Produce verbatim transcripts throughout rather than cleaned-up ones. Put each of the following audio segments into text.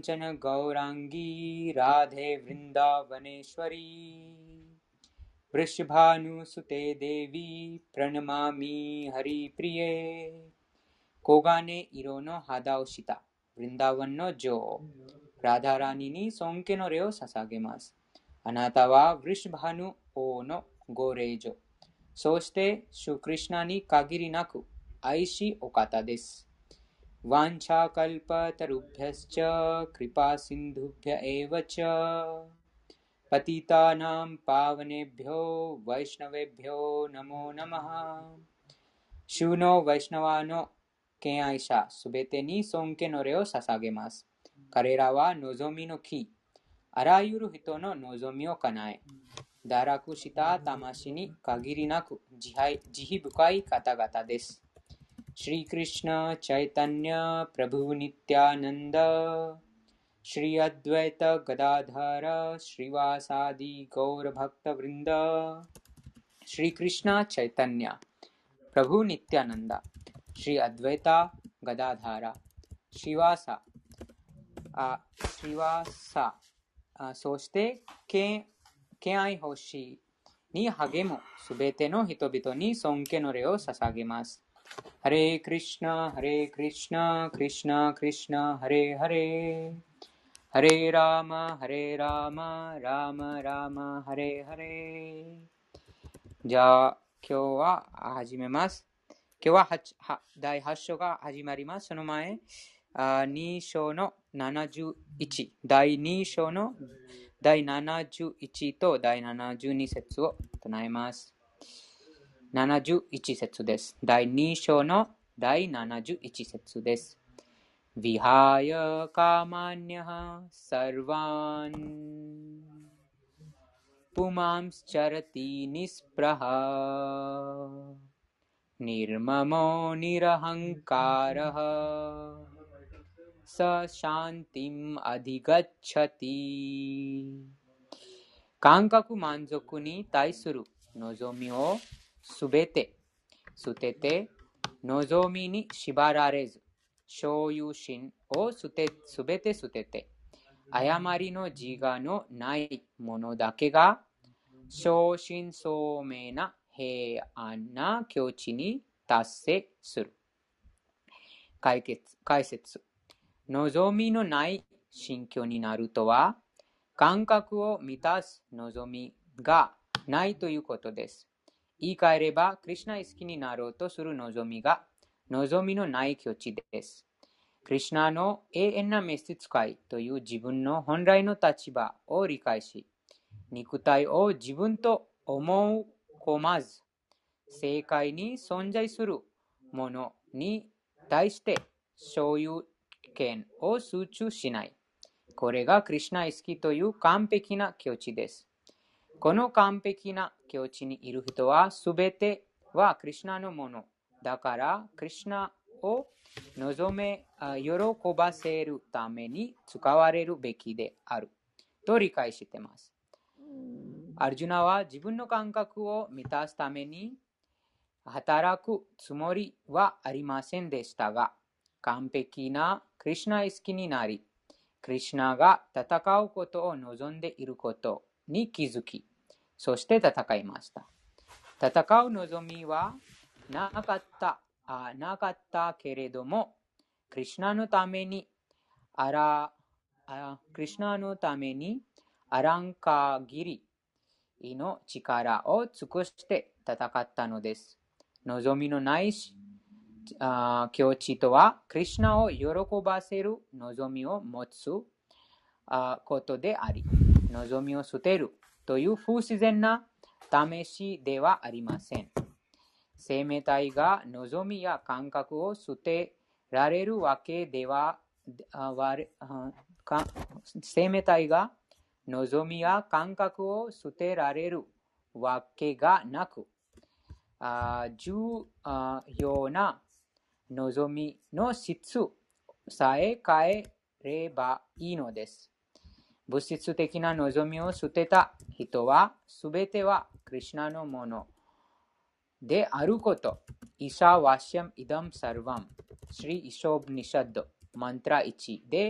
कांचन गौरांगी राधे वृंदावनेश्वरी वृषभानुसुते देवी प्रणमामि हरिप्रिये कोगाने इरोनो हादाओशिता वृंदावन नो जो राधा रानी नी सोंके नो रे ओ ससागेमासु अनाता वा वृषभानु ओ नो गोरेजो सोस्ते शुकृष्णा नी कागिरी नाकु आईशी ओकाता देसु वांछा कल्पतरुभ्यश्च कृपा सिंधुभ्य एव च पतितानां पावनेभ्यो वैष्णवेभ्यो नमो नमः शूनो वैष्णवानो के आयशा सुबेते नी सोंके नो रे ओ ससागेमासु करेरा वा नोजोमी नो की अरायुरु हितो नो नोजोमी ओ कनाए दाराकु शिता तामाशी नी कागिरी नाकु जिहि बुकाई काता गाता देसु श्री कृष्ण चैतन्य प्रभु नित्यानंद श्री अद्वैत गदाधर श्रीवासादि गौर भक्त वृंद श्री कृष्ण चैतन्य प्रभु नित्यानंद श्री अद्वैत गदाधर श्रीवासा श्रीवासा सोस्ते के के आई होशी नी हगेमो सुबेते नो हितोबितो नी सोंके नो रे ओ ससागेमासु हरे कृष्ण हरे कृष्ण कृष्ण कृष्ण हरे हरे हरे राम हरे राम राम राम हरे हरे じゃあ今日は始めます。今日はだいはち章が始まります。その前に章のななじゅういちだいに章のだいななじゅういちとだいななじゅうに節を唱えます。ななじゅういち節です。だいに章のだいななじゅういち節です。ヴィハヤカマニャハサルワンプマンスチャラティニスプラハニルマモニラハンカラハサシャンティムアディガッチャティ感覚満足に対する望みをすべて捨てて望みに縛られず所有心をすべて捨てて誤りの自我のないものだけが正真正銘な平安な境地に達成する。解決解説望みのない心境になるとは感覚を満たす望みがないということです。言い換えれば、クリシュナ意識になろうとする望みが望みのない境地です。クリシュナの永遠な召使いという自分の本来の立場を理解し、肉体を自分と思う込まず、世界に存在するものに対して所有権を集中しない。これがクリシュナ意識という完璧な境地です。この完璧な境地にいる人はすべてはクリシュナのものだからクリシュナを望め喜ばせるために使われるべきであると理解しています。アルジュナは自分の感覚を満たすために働くつもりはありませんでしたが、完璧なクリシュナ意識になり、クリシュナが戦うことを望んでいることに気づき、そして戦いました。戦う望みはなかった、あなかったけれども、クリシュナのためにあらあクリシュナのためにあらん限りの力を尽くして戦ったのです。望みのない境地とは、クリシュナを喜ばせる望みを持つことであり、望みを捨てるという不自然な試しではありません。生命体が望みや感覚を捨てられるわけでは、生命体が望みや感覚を捨てられるわけがなく、重要な望みの質さえ変えればいいのです。物質的な望みを捨てた人は、すべてはクリシュナのものであること。イシャワシャムイダムサルヴァム、シリイショブニシャッド、マントラいちで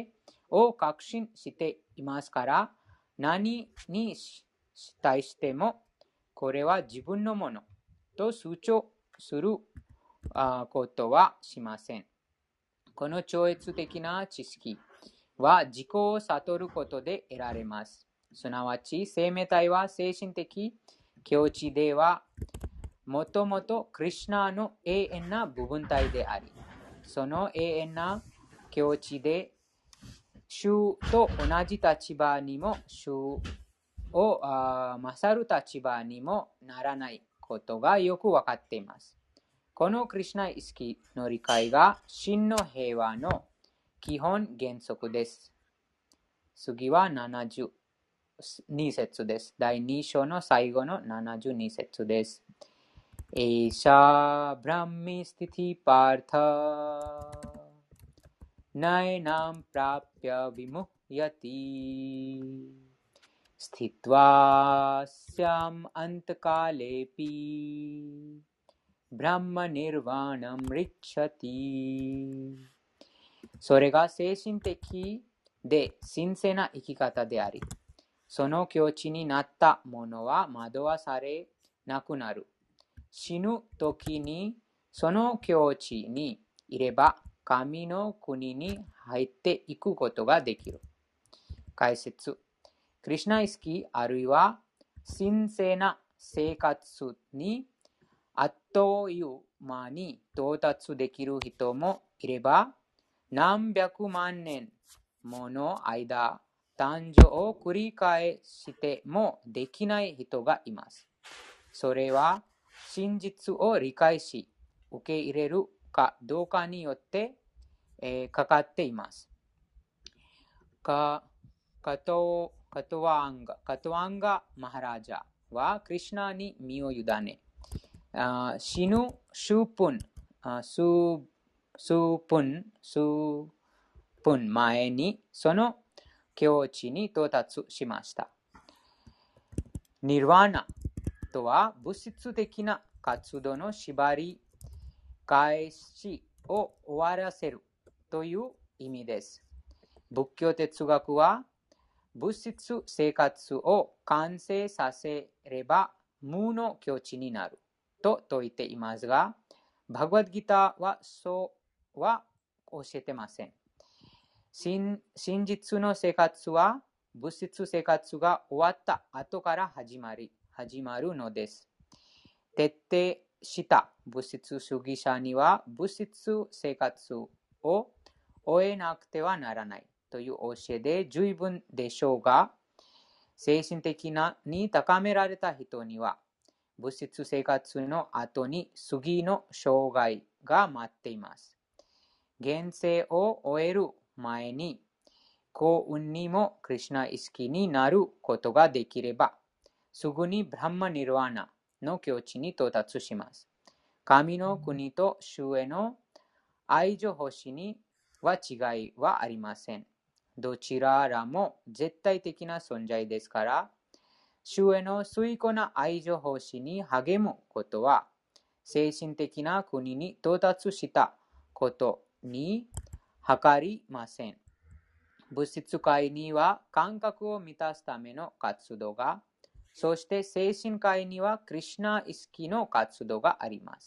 を確信していますから、何に対してもこれは自分のものと主張することはしません。この超越的な知識は自己を悟ることで得られます。すなわち、生命体は精神的境地では、もともとクリシュナの永遠な部分体であり、その永遠な境地で、主と同じ立場にも、主を勝る立場にもならないことがよくわかっています。このクリシュナ意識の理解が真の平和の基本原則です。次はななじゅうに節です。だいに章の最後のななじゅうに節です。エーシャブラミスティティパータナイナムプラピャビムヤティスティトワシャムアンタカレピブラマニルワナムリッチャティ。それが精神的で神聖な生き方であり、その境地になった者は惑わされなくなる。死ぬ時にその境地にいれば神の国に入っていくことができる。解説。クリシュナ意識あるいは神聖な生活にあっという間に到達できる人もいれば、何百万年もの間、誕生を繰り返してもできない人がいます。それは真実を理解し、受け入れるかどうかによって、えー、かかっています。か、カト、カトワンガ、カトワンガマハラジャはクリシュナに身を委ね、あ死ぬ数分、あ数、数分、数分前にその境地に到達しました。ニルワーナとは物質的な活動の縛り返しを終わらせるという意味です。仏教哲学は物質生活を完成させれば無の境地になると説いていますが、バグワッドギターはそうは教えてません。真, 真実の生活は物質生活が終わった後から始まり、始まるのです。徹底した物質主義者には物質生活を終えなくてはならないという教えで十分でしょうが、精神的なに高められた人には物質生活の後に次の障害が待っています。現世を終える前に幸運にもクリシュナ意識になることができれば、すぐにブラハマニルワーナの境地に到達します。神の国と主への愛情欲しには違いはありません。どちららも絶対的な存在ですから、主への崇高な愛情欲しに励むことは、精神的な国に到達したことに計りません。物質界には感覚を満たすための活動が、そして精神界にはクリシュナ意識の活動があります。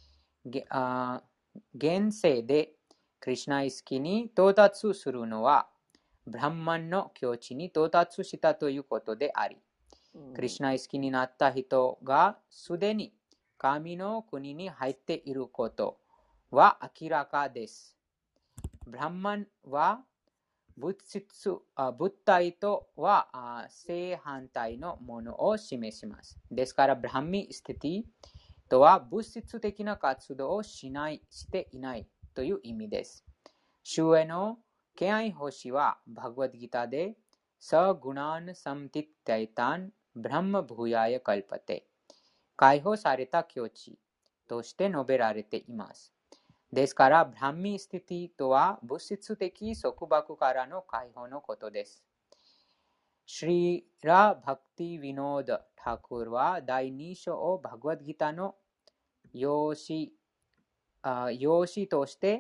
現世でクリシュナ意識に到達するのは、ブラハマンの境地に到達したということであり、クリシュナ意識になった人がすでに神の国に入っていることは明らかです。ブラハマンは物質、物体とは正反対のものを示します。ですから、ブラハミスティティとは物質的な活動をしない、していないという意味です。主への敬愛欲しは、バグワッドギターで、サグナンサムティタイタン、ブラマブーヤヤカルパテ、解放された境地として述べられています。ですから、ブラハミスティティとは物質的束縛からの解放のことです。シリラ・バクティ・ヴィノーダ・タクールはだいに章をバグワッドギターの用紙、用紙として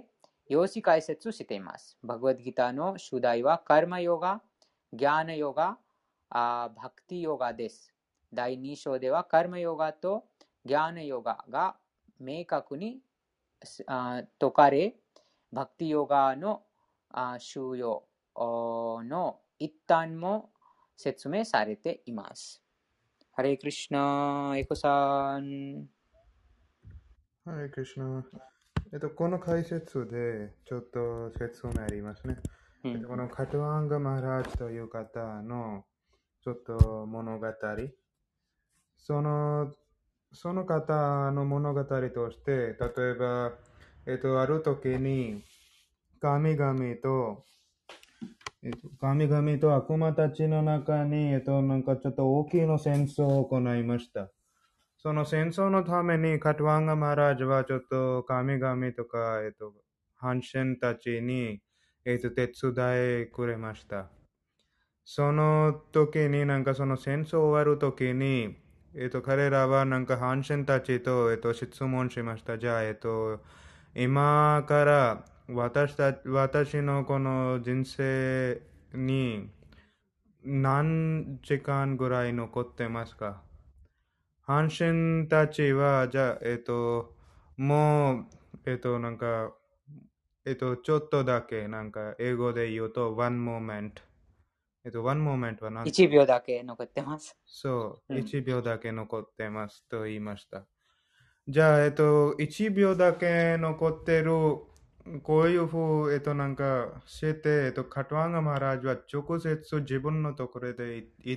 用紙解説しています。バグワッドギターの主題はカルマヨガ、ギャーナヨガ、バクティヨガです。だいに章ではカルマヨガとギャーナヨガが明確に説かれ、バクティヨガの収容の一端も説明されています。ハレークリシュナ、エコさん。 ハレークリシュナ。えっと、この解説でちょっと説明ありますね。 うんえっと、このカトワンガ・マハラージという方のちょっと物語。その、その方の物語として、例えば、えっと、ある時に神々と、えっと、神々と悪魔たちの中に、えっと、なんかちょっと大きな戦争を行いました。その戦争のためにカトワンガ・マハラージはちょっと神々とか、えっと、反戦たちに、えっと、手伝いくれました。その時になんかその戦争終わる時に、えっと、彼らはなんか反戦たちと、えっと、質問しました。じゃあ、えっと、今から私た私のこの人生に何時間ぐらい残ってますか？阪神たちは、じゃあ、えっと、もう、えっと、なんか、えっと、ちょっとだけ、なんか、英語で言うと、one moment。えっと、one moment は何いちびょうだけ残ってます。 そう、 うん、 いちびょうだけ残ってますと言いました。じゃあ、えっと、いちびょうだけ残ってる、こういうふう、えっと、なんか、して、えっと、カトワンガ・マハラージは直接自分のところで言って、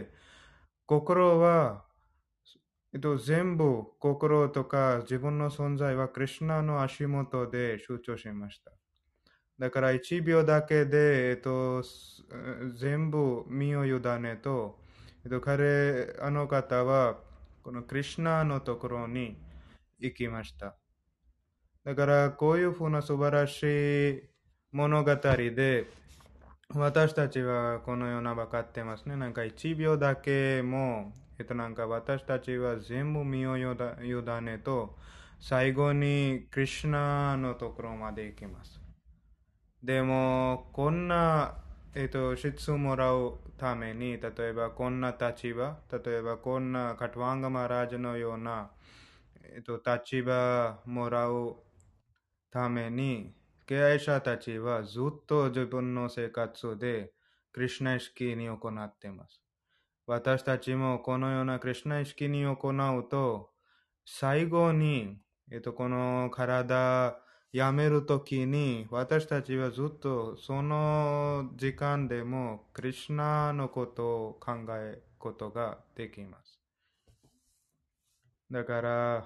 心は、えっと、全部、心とか自分の存在はクリシュナの足元で集中しました。だからいちびょうだけで、えっと、全部身を委ねと、えっと、彼、あの方は、このクリシュナのところに行きました。だから、こういうふうな素晴らしい物語で、私たちはこのような分かってますね。なんかいちびょうだけも、えっとなんか私たちは全部身を委ねと、最後にクリシュナのところまで行きます。でも、こんな、えっと、質をもらうために、例えばこんな立場、例えばこんなカトワンガ・マハラージャのような、えっと、立場もらうために、敬愛者たちはずっと自分の生活でクリシュナ意識に行っています。私たちもこのようなクリシュナ意識に行うと、最後に、えっと、この体やめるときに、私たちはずっとその時間でもクリシュナのことを考えることができます。だから、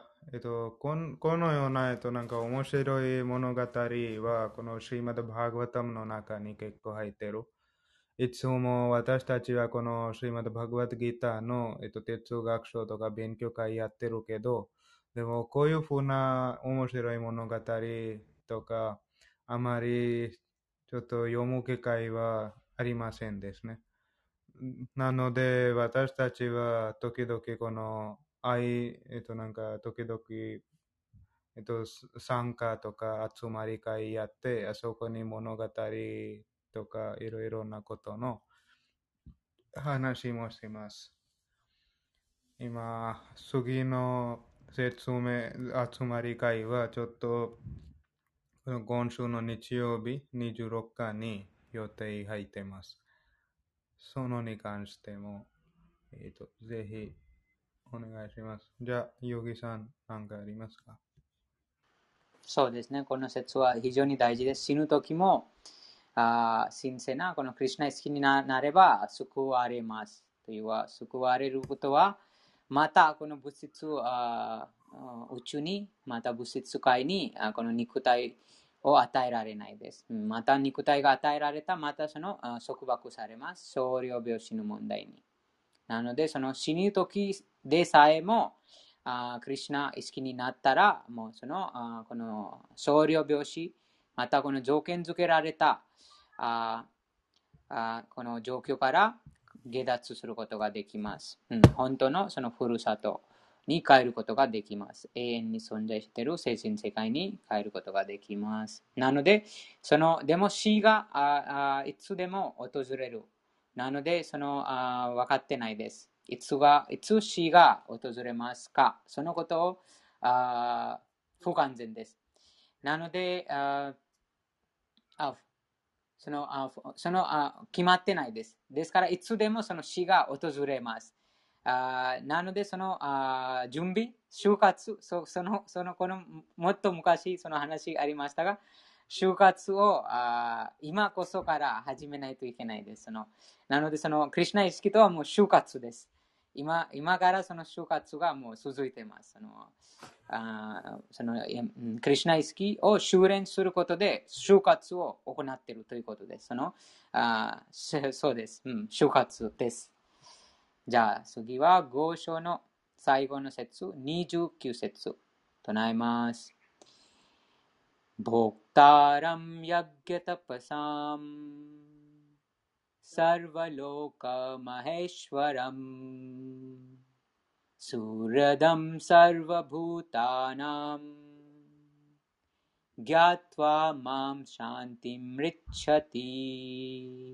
えっと、こんこのような、えっと、なんか面白い物語は、このシーマド・バーガバタムの中に結構入ってる。いつも私たちはこのシーマド・バーガバタギターの、えっと、哲学書とか勉強会やってるけど、でもこういうふうな面白い物語とか、あまりちょっと読む機会はありませんですね。なので、私たちは時々この愛、えっとなんか時々、えっと参加とか集まり会やって、あそこに物語とかいろいろなことの話もします。今、次の説明、集まり会はちょっと今週の日曜日にじゅうろくにちに予定入っています。そのに関しても、えっと、ぜひお願いします。じゃあ、ヨギさん、何かありますか？ そうですね。この説は非常に大事です。死ぬ時も、あ神聖なこのクリシュナ意識になれば救われます。というは、救われることは、またこの物質あ宇宙に、また物質界にあこの肉体を与えられないです。また肉体が与えられた、またその束縛されます。僧侶病死の問題に。なので、その死ぬ時でさえも、あクリシュナ意識になったら、もうそのあこの僧侶病死、またこの条件付けられたああこの状況から下脱することができます。うん、本当のそのふるさとに変えることができます。永遠に存在している精神世界に変えることができます。なので、その、でも死がああいつでも訪れる。なので、そのあ分かってないです。いつが、いつ死が訪れますか、そのことをあ不完全です。なので、ああそのあそのあ決まってないです。ですから、いつでもその死が訪れます。あなので、そのあ準備、就活、そそのそのこのもっと昔その話ありましたが、就活をあ今こそから始めないといけないです。そのなので、そのクリシュナ意識とはもう就活です。今今からその就活がもう続いています。そのあそのクリシュナ意識を修練することで就活を行っているということです。そのあそうです、うん、就活です。じゃあ次はご章の最後の節にじゅうきゅう節唱えます。ボクタラムヤギャタパサムサルヴァローカマヘシュワラムスラダムサルヴァブータナムギャトワマムシャンティムリッチャティ。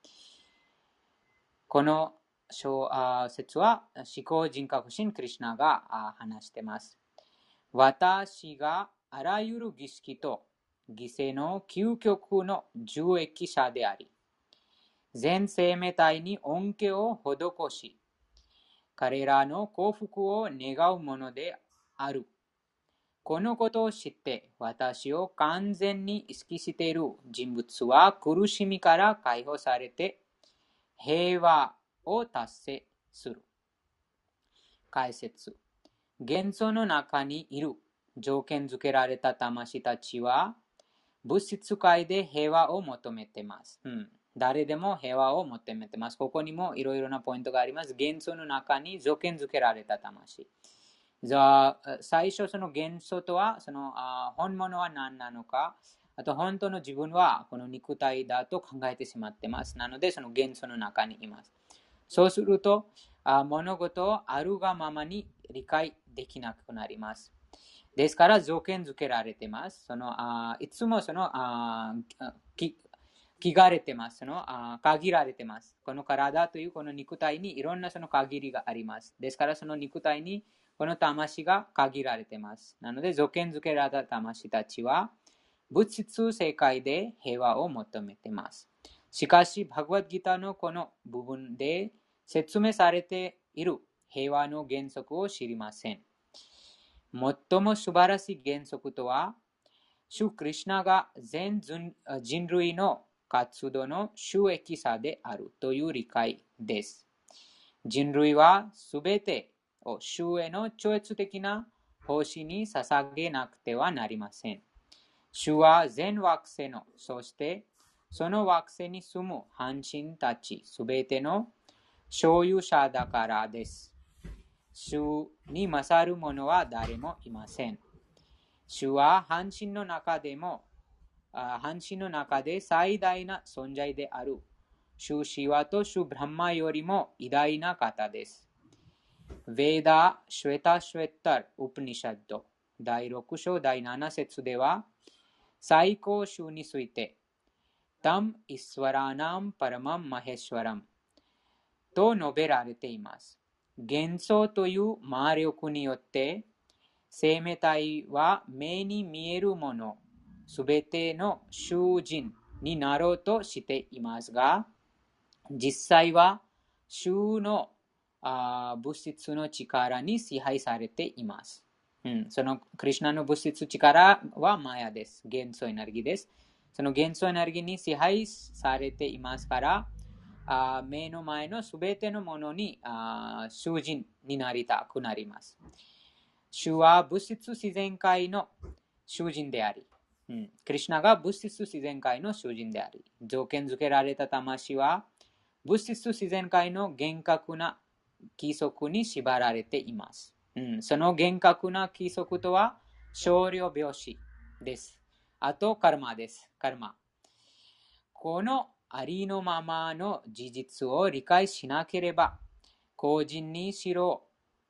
この説は思考人格心クリシュナが話しています。私があらゆる儀式と犠牲の究極の受益者であり、全生命体に恩恵を施し、彼らの幸福を願うものである。このことを知って私を完全に意識している人物は苦しみから解放されて平和を達成する。解説。元素の中にいる条件付けられた魂たちは物質界で平和を求めています。うん、誰でも平和を求めています。ここにもいろいろなポイントがあります。元素の中に条件付けられた魂。じゃあ最初その元素とはそのあ本物は何なのか、あと本当の自分はこの肉体だと考えてしまっています。なのでその元素の中にいます。そうするとあ物事をあるがままに理解できなくなります。ですから条件付けられています。そのあいつもそのあき聞かれてます。そのあ限られてます。この体というこの肉体にいろんなその限りがあります。ですからその肉体にこの魂が限られています。なので条件付けられた魂たちは物質世界で平和を求めています。しかし、バグワッドギターのこの部分で説明されている平和の原則を知りません。最も素晴らしい原則とは、主クリシュナが全人類の活動の収益者であるという理解です。人類はすべてを主への超越的な奉仕に捧げなくてはなりません。主は全惑星の、そしてその惑星に住む半身たちすべての所有者だからです。主に勝る者は誰もいません。主は半身の中でも、半身の中で最大な存在である。主シワと主ブランマよりも偉大な方です。ヴェーダ・シュエタ・シュエッタル・ウプニシャッドだいろく章だいなな節では、最高主について、タム・イスワラナム・パラマン・マヘシワラムと述べられています。幻想という魔力によって、生命体は目に見えるもの、すべての囚人になろうとしていますが、実際は主のあ物質の力に支配されています。うん、そのクリシュナの物質力はマヤです。元素エネルギーです。その元素エネルギーに支配されていますから、あ目の前のすべてのものにあ囚人になりたくなります。主は物質自然界の囚人であり、うん、クリシュナが物質自然界の囚人であり、条件付けられた魂は物質自然界の厳格な規則に縛られています。うん、その厳格な規則とは少量病死です。あとカルマです。カルマ。このありのままの事実を理解しなければ、個人にしろ、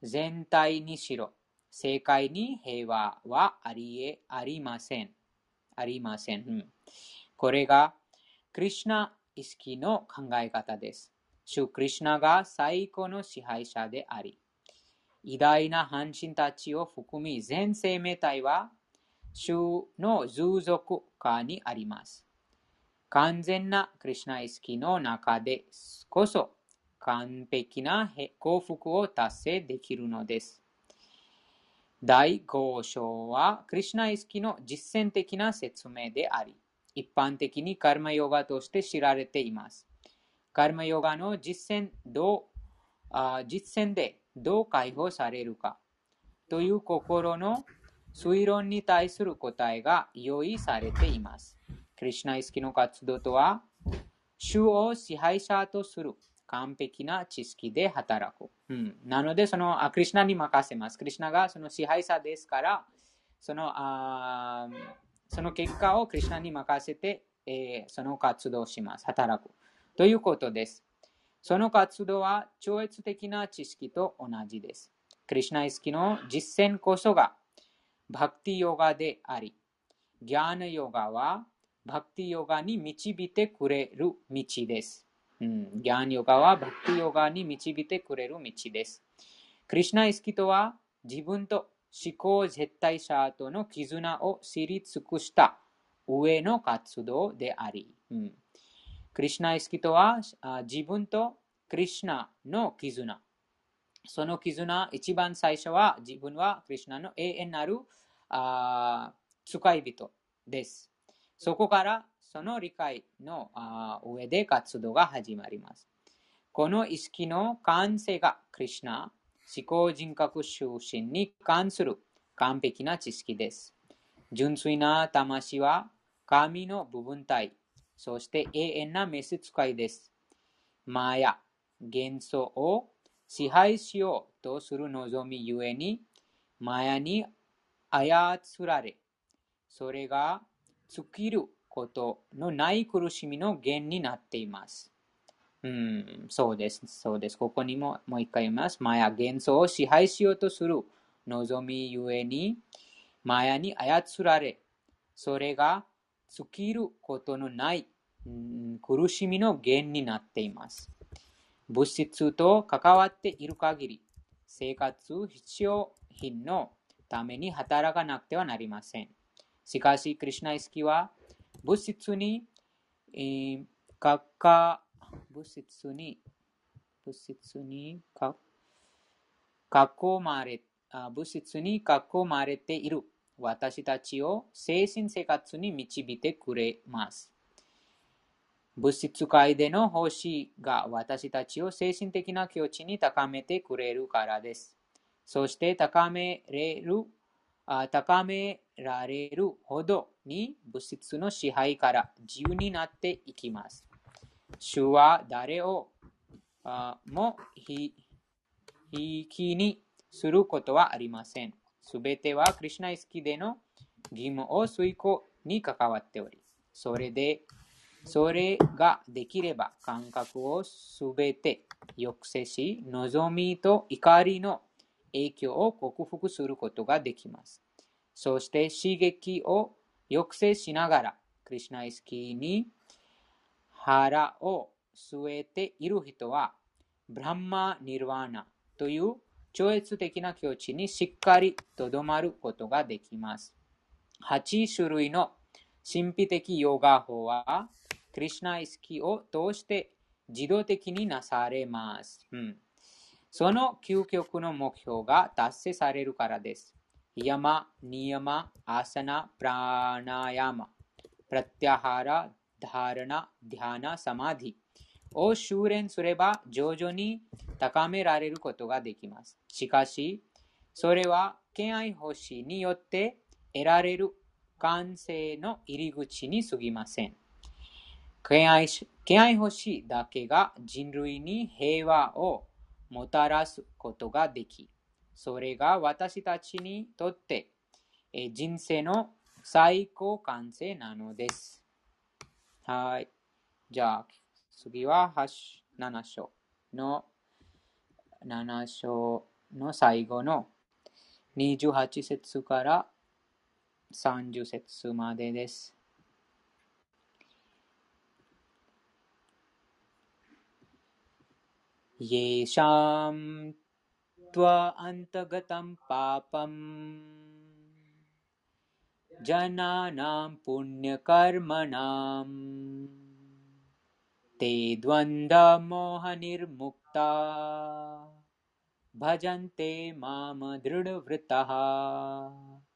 全体にしろ、世界に平和はありえ、ありません。ありません。うん、これがクリシュナ意識の考え方です。主クリシュナが最高の支配者であり、偉大な半身たちを含み全生命体は主の従属下にあります。完全なクリシュナ意識の中でこそ完璧な幸福を達成できるのです。だいご章はクリシュナ意識の実践的な説明であり、一般的にカルマヨガとして知られています。カルマヨガの実践どうあ実践でどう解放されるかという心の推論に対する答えが用意されています。クリシュナ意識の活動とは、主を支配者とする完璧な知識で働く。うん、なので、そのクリシュナに任せます。クリシュナがその支配者ですから、そのあその結果をクリシュナに任せて、えー、その活動をします。働く。ということです。その活動は超越的な知識と同じです。クリシュナ意識の実践こそがバクティヨガであり、ギャーナヨガはバクティヨガに導いてくれる道です。うん、ギャーナヨガはバクティヨガに導いてくれる道です。クリシュナ意識とは自分と思考絶対者との絆を知り尽くした上の活動であり、うん、クリシュナ意識とは自分とクリシュナの絆。その絆、一番最初は自分はクリシュナの永遠なるあ使い人です。そこからその理解の上で活動が始まります。この意識の完成がクリシュナ、思考人格出身に関する完璧な知識です。純粋な魂は神の部分体、そして永遠な召使いです。マヤ、幻想を支配しようとする望みゆえに、マヤに操られ、それが尽きることのない苦しみの源になっています。うん、そうです、そうです。ここにももう一回言います。マヤ、幻想を支配しようとする望みゆえに、マヤに操られ、それが尽きることのない、うん、苦しみの源になっています。物質と関わっている限り、生活必需品のために働かなくてはなりません。しかし、クリシュナ意識は物質に、えー、かか物質に物質にか囲まれ物質に囲まれている私たちを精神生活に導いてくれます。物質界での奉仕が私たちを精神的な境地に高めてくれるからです。そして高めれる、高められるほどに物質の支配から自由になっていきます。主は誰をもひいきにすることはありません。すべてはクリシュナ意識での義務を遂行に関わっており、それで、それができれば感覚をすべて抑制し、望みと怒りの影響を克服することができます。そして刺激を抑制しながら、クリシュナ意識に腹を据えている人は、ブランマ・ニルワーナという超越的な境地にしっかりとどまることができます。はち種類の神秘的ヨガ法は、クリシュナ意識を通して自動的になされます。うん、その究極の目標が達成されるからです。ヤマ、ニヤマ、アサナ、プラナヤマ、プラティアハラ、ダラナ、ディハナ、サマディを修練すれば徐々に高められることができます。しかし、それは敬愛奉仕によって得られる完成の入り口に過ぎません。敬愛、敬愛奉仕だけが人類に平和をもたらすことができ、それが私たちにとって人生の最高完成なのです。はい。じゃあ、次はなな章のなな章の最後のにじゅうはち節からさんじゅう節までです。イェシャムトワアンタガタンパパムジャナナムプニャカルマナムテドワンダモハニルムクタバジャンテママドルドヴリタハ。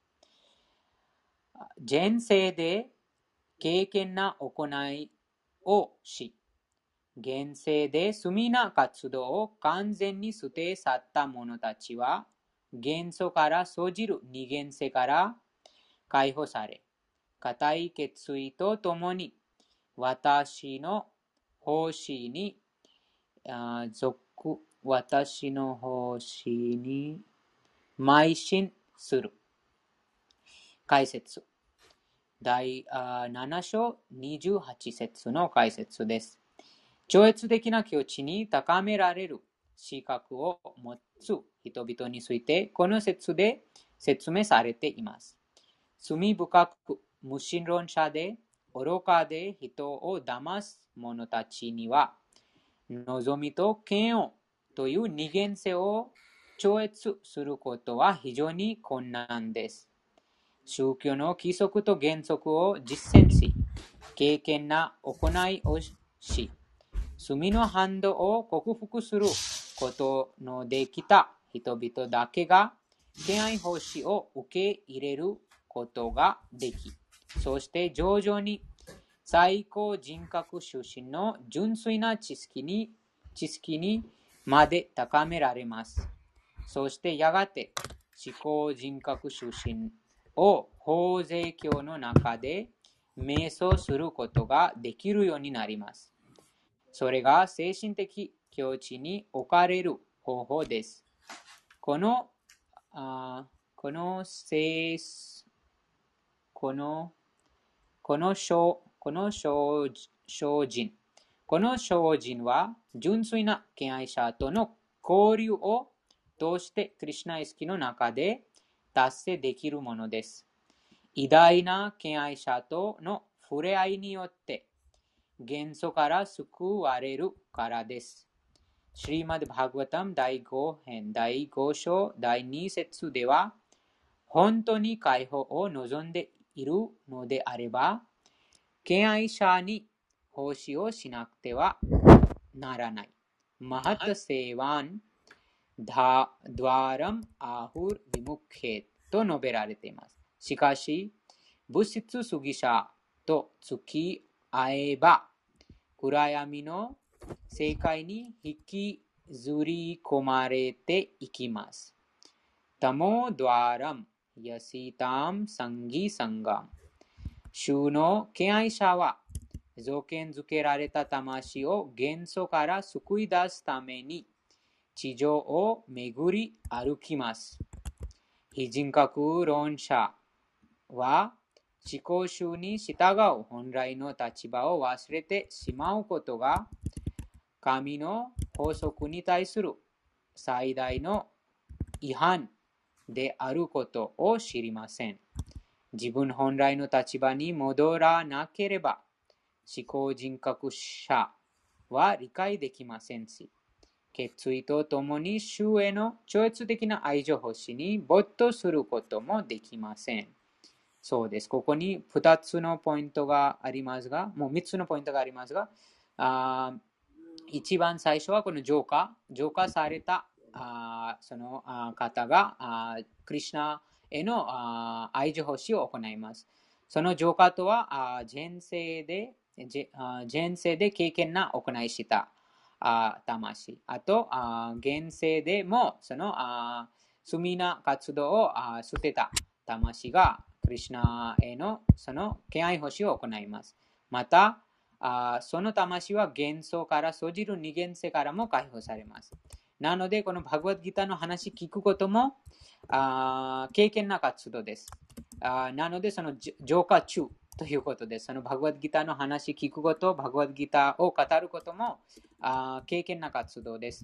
前世で経験な行いをし、現世で罪な活動を完全に捨て去った者たちは、元素から生じる二元世から解放され、固い決意とともに私の奉仕に属、私の奉仕に邁進する。解説。第なな章にじゅうはち節の解説です。超越的な境地に高められる資格を持つ人々について、この説で説明されています。罪深く無神論者で愚かで人を騙す者たちには、望みと嫌悪という二元性を超越することは非常に困難です。宗教の規則と原則を実践し、敬虔な行いをし、罪の反動を克服することのできた人々だけが、敬愛奉仕を受け入れることができ、そして徐々に最高人格出身の純粋な知識に、知識にまで高められます。そしてやがて至高人格出身を法税教の中で瞑想することができるようになります。それが精神的境地に置かれる方法です。この、あこの精このこの精この精進この精進は純粋な敬愛者との交流を通してクリシュナ意識の中で達成できるものです。偉大な敬愛者との触れ合いによって元素から救われるからです。シリマッド・バーガヴァタムだいご編だいご章だいに節では、本当に解放を望んでいるのであれば、敬愛者に奉仕をしなくてはならない。マハタセーワンダワラムアフルビムクヘと述べられています。しかし、物質主義者と付き合えば、暗闇の世界に引きずり込まれていきます。タモドワラムヤシタムサンギサンガム。主の敬愛者は、条件づけられた魂を元素から救い出すために、地上を巡り歩きます。非人格論者は、思考主に従う本来の立場を忘れてしまうことが、神の法則に対する最大の違反であることを知りません。自分本来の立場に戻らなければ、思考人格者は理解できませんし、決意とともに主への超越的な愛情奉仕に没頭することもできません。そうです。ここにふたつのポイントがありますが、もうみっつのポイントがありますが、あ一番最初はこの浄化、浄化されたあそのあ方があクリシュナへのあ愛情奉仕を行います。その浄化とは、あ前世で、前世で経験な行いしたあ魂。あと、あ現世でもそのあ罪な活動をあ捨てた魂がクリシュナへのその敬愛奉仕を行います。また、あその魂は元素から生じる二元性からも解放されます。なので、このバグワッドギターの話聞くこともあ経験な活動です。あなので、その浄化中ということです。そのバグワッドギターの話聞くこと、バグワッドギターを語ることもあ経験な活動です。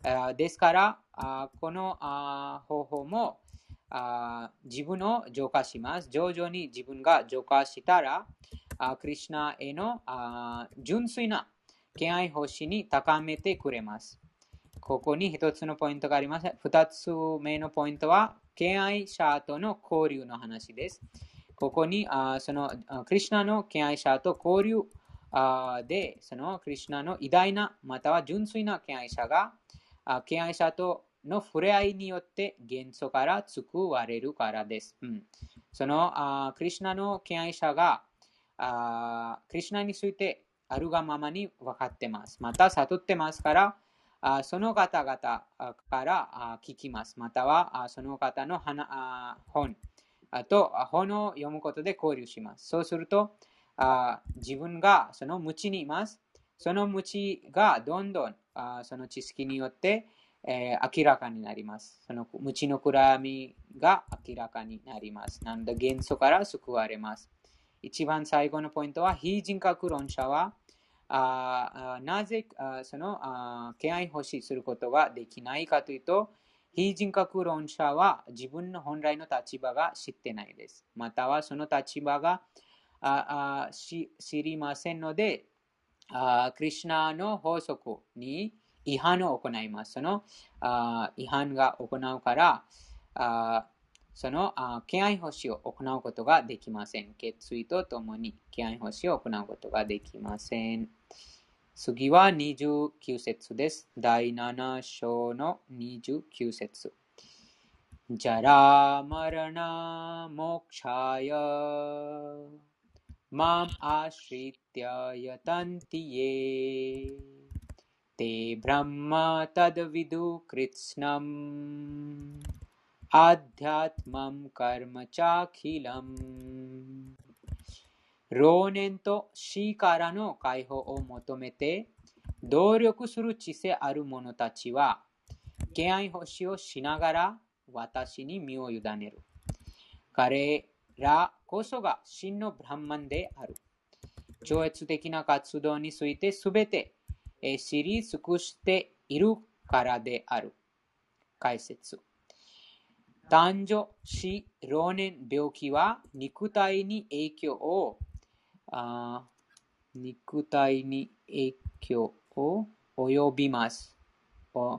ですから、この方法も自分を浄化します。徐々に自分が浄化したら、クリシュナへの純粋な敬愛奉仕に高めてくれます。ここに一つのポイントがあります。二つ目のポイントは、敬愛者との交流の話です。ここに、そのクリシュナの敬愛者と交流で、そのクリシュナの偉大な、または純粋な敬愛者が、敬愛者との触れ合いによって元素から救われるからです。うん、そのクリシュナの敬愛者がクリシュナについてあるがままに分かってます。また悟ってますから、その方々から聞きます。またはその方の本と本を読むことで交流します。そうすると、自分がその無知にいます。その無知がどんどんその知識によって、えー、明らかになります。その無知の暗闇が明らかになります。なので元素から救われます。一番最後のポイントは、非人格論者はあなぜその敬愛奉仕することができないかというと、非人格論者は自分の本来の立場が知ってないです。またはその立場がああ知りませんので、あクリシュナの法則に違反を行います。そのあ違反が行うから、あその敬愛奉仕を行うことができません。決意とともに敬愛奉仕を行うことができません。次はにじゅうきゅう節です。だいなな章のにじゅうきゅう節。ジャラマラナモクシャヤマムアシリティヤタンティエテブランマタダビドゥクリツナムアディアトマムカルマチャキラム。老年と死からの解放を求めて努力する知性ある者たちは、敬愛奉仕をしながら私に身を委ねる。彼らこそが真のブランマンである。超越的な活動についてすべて知り尽くしているからである。解説。誕生、死、老年、病気は肉体に影響をあ肉体に影響を及びます。お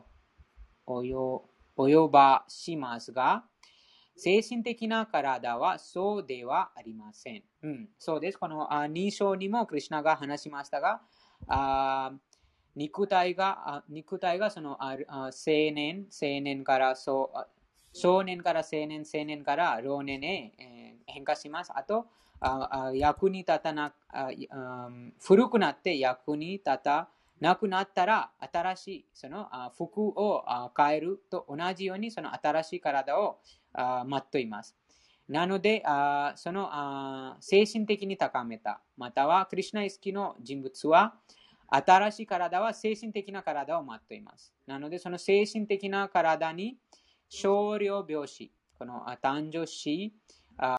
及ばしますが、精神的な体はそうではありません。うん、そうです。このに章にもクリシュナが話しましたが、あ肉体が、肉体がその青年、青年からそう少年から青年、青年から老年へ、えー、変化します。あと、あ役に立たなあ、古くなって役に立たなくなったら、新しいその服を変えると同じように、その新しい体を待っています。なので、その精神的に高めた、またはクリシュナ意識の人物は、新しい体は精神的な体を待っています。なので、その精神的な体に少量病死、この誕生死、